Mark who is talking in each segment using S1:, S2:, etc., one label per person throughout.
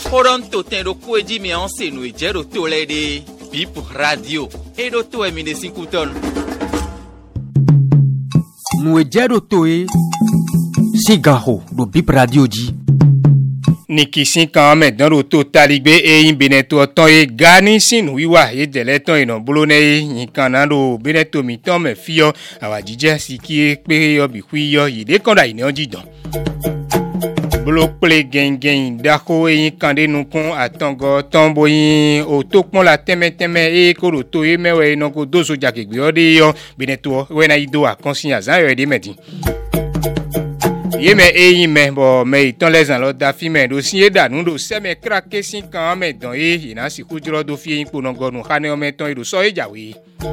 S1: Horonto tendo kueji mi anse no ejero tolede. Bip radio. Edo to emine sinkuton.
S2: No ejero toe. Sigaho do Bip radio ji.
S3: Nikisin kan me dan ro to taligbe yin beneto ton e gani sin wiwa e dele ton ina bolone yin kan na do beneto mi ton me fiyo awajije siki pe yo bi kwiyo yide kan da ina ojidan Bloqué gen dako yin kande nukun atango tombo yin o to pon la teme e koro to e mewe no ko dozo jakegbe ode yo beneto we na ido akonsinya zan yo de medin Yeme yin me bo me itan lesan lo da fi me do sin da nu do se me krake sin kan me don ina si kujuro do fi yin ponongo nu khane o me ton do so ejawe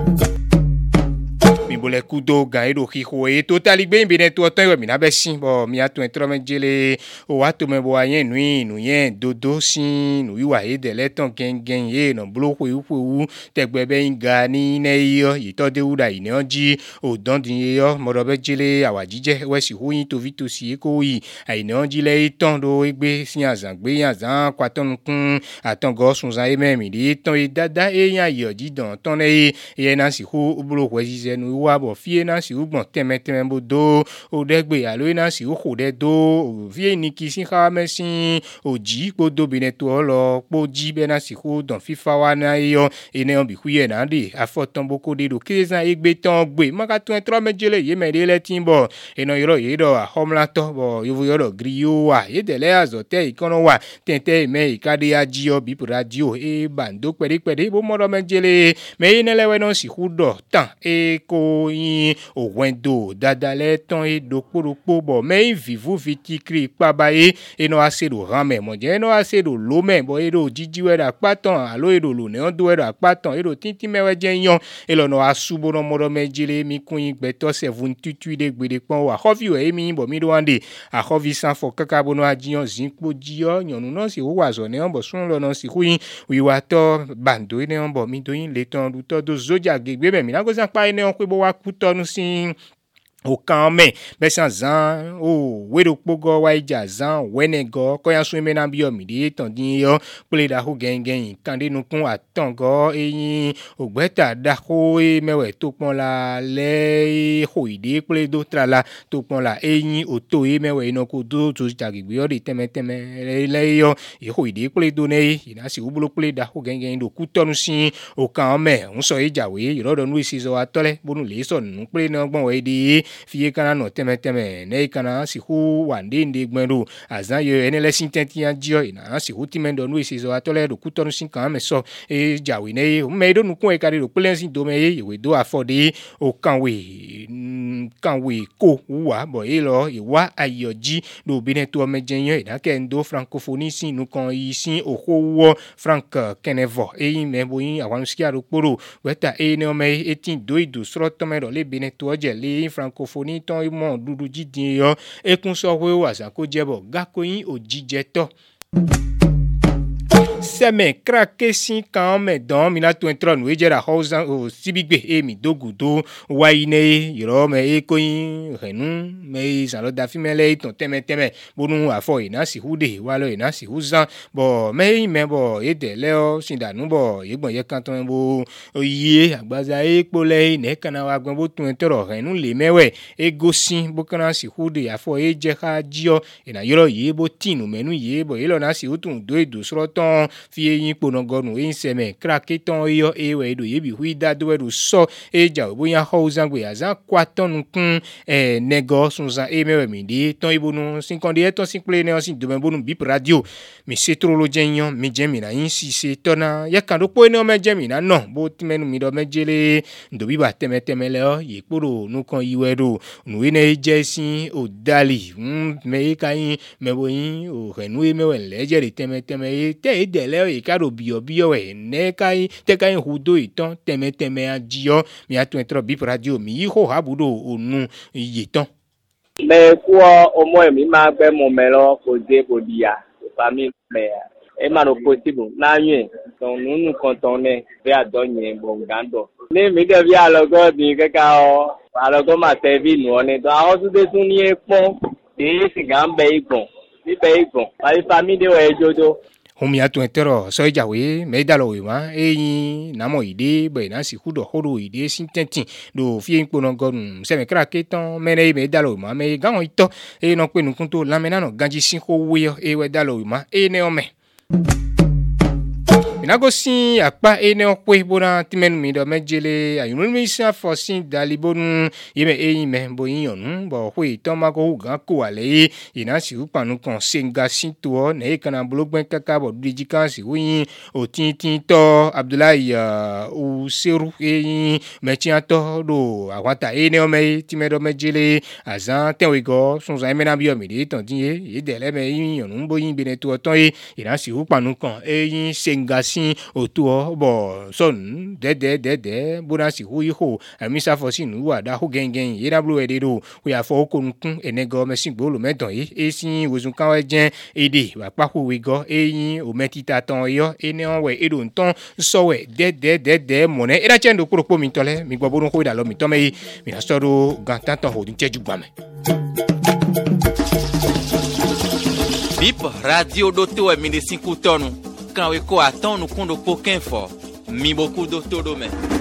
S3: mi bole kudo gan edo hiho e to taligbe bi ne to ton we mi na be sin bo mi atun etro me jele o wa to me bo ayen nu yen dodo sin nu wiwa e de leton gen ye no bloku wu tegbe be nga ni ne yo ito de uda ine oji o don din yo mo be jele awajije we si hu yin to vitu si ko yi aine oji le iton do egbe sin azan gbe yan zan kwaton kun atongo sun zan e me mi di ton e dada e yan yo ji don ton e na si hu bloku we ji nu wa bo fie na si ugbon teme bo do o degbe alo na si o ko de do o fie ni ki sin kha me sin o ji po do bi ne to lo po ji be na si ko don fifa wa na yo ene on bi kuye na de afoton boko de do kezan egbe ton gbe maka 23 mejele ye me de le timbo eno yoro ye do a homla to bo yo yoro griyo wa ye de le azote ikono wa tente me ikade aji o bi radio e bando pede bo mo do mejele me ene le we no si hudo tan e ko yin o wendo dadale ton e dokporopo bo me vivu vitikri pabaye eno asedo rame mo je eno asedo lome bo edo jijiwe da paton alo edo lo ne ondo edo paton edo tinti mewe je yan elo no asubo no modo mejile mi kun yin gbeto 7 de gbede pon wa hofi we mi bo mi do ande a hofi san fo kaka bo no ajiyan zinpo jiyo yanu no si wo wazo ne on bo sun lo no si kuyin wiwa to bando ne on bo mi do yin le ton du to do zoja gegbe me mi na go san pa ne on pe bo wa kutonu sin o kan me besan zan o wedo pogo wa ija zan wenego ko yan sun me na bi o mi de ton din yo pele da ho gen kan de nukun atango eyin ogbeta da ko e mewe to pon la le ho ide pele do trala to pon la eyin o to e mewe ino ko do to jagigbe o de teme le yo e ho ide pele do ne ina si ubulo pele da ho gen do kutonu sin o kan me un so ijawe irodo nu isi zo atole bonu le so nu pele na gbon we de fie kana no teme ne kana si hu wande ndi gbero azan yo enele sintenti anjio ina si hu timendo nu isi zo atole do kutonu sin kan me so e jawe ne o me do nu kun e kare do pele sin do me ye we do afode o kanwe ko wa bo e lo iwa ayoji do bine to mejenyo ina ke ndo francophonie sin nu kan yi sin okowo frank kenevo e yin me bo yin awan skia ro poro weta e ne o me etin do idu sro to me do le bine to je le francophonie ton mo dudu jidin yo e kun so we wa san ko jebo gakoyin ojije to Seme krake sin kan me don mi na 23 nu ejera hausan o sibigbe e mi dogudo wa ine yoro me e koyin renu me san lo da fi mele iton teme bonu afo ina si hude wa lo ina si huzan bo me bo e de le o sin danu bo egbon ye kan ton bo oye agbaza e pole ine kana wa gbon bo 23 renu le mewe e gosin bo kana si hude afo e je ka jio ina yoro ye bo tinu menu ye bo ilo na si utun do edu sroton fie yin ponongonu e seme krake ton yo e we do ye bi hui da do do so e ja bo yan houzan gbe azan kwaton kun nego sunza e mewe mi di ton ibonu sin kon de ton sin play ne sin do bonu Bip radio mi setrolo jenyon mi jemi na yin si se tona ya kan do po ne o me jemi na no bo timenu mi do mejele ndo bi ba teme le o ye poro nu kan iwe do nu ene jesin o dali me kayin me bo yin o renu e mewe leje de teme e te de le e karo bio we ne kai te kai hudo iton teme ajio mi atun etro Bip radio mi ho habudo onu iyetan
S4: me kwa omo mi ma gbe mo me lo ko de bodia family me e ma no possible na yin ton nunu kan ton ne be adonye bo ngando ni mi de bi alogo ni kaka o alogo ma te bi nu oni to a o tu de tun ni epon de si gan be igbon ni be igbon ai family we jojo
S3: Homia to entero so jawe me dalo we ma namo ide be na si hudo hodo ide sintenti do fi npono gon se me kra keton me dalo ma me gan ito no pe nu kunto lamena no ganji sin ko we we dalo ma ne o me Nagosi akpa ene okwe bona timenu mi do mejele ayunu mi sa fosin dalibonu yeme me bo yonu bo hwe to ma ko gan ko ale ina si upanu kon senga sinto ne kana blogben kaka bo dijikan si wi o tin to Abdullahi o seru metia to do awata ene o me timedo mejele azan tenwego son za mena bi o mi de ton din e dele me yonu bo yin bene to ton ina si upanu kon senga autour bon son de bona si hu ho amisa fosi nu wa da ho gengen ira blu ededo we afo konkun enego mesin gbolo medan e sin wozun kan wa jen ede wa pa ho we go eyin o metita ton yo ene on we edo nton so we de mone ira chendo kuro mi tole mi gbo bodun ho da lo mi to me mi na soro gantan ton ho din teju gba me
S1: Bip radio doto e mine 5 tonu. Quand we ko atonu kundo poken fo. Mi boku do todo me.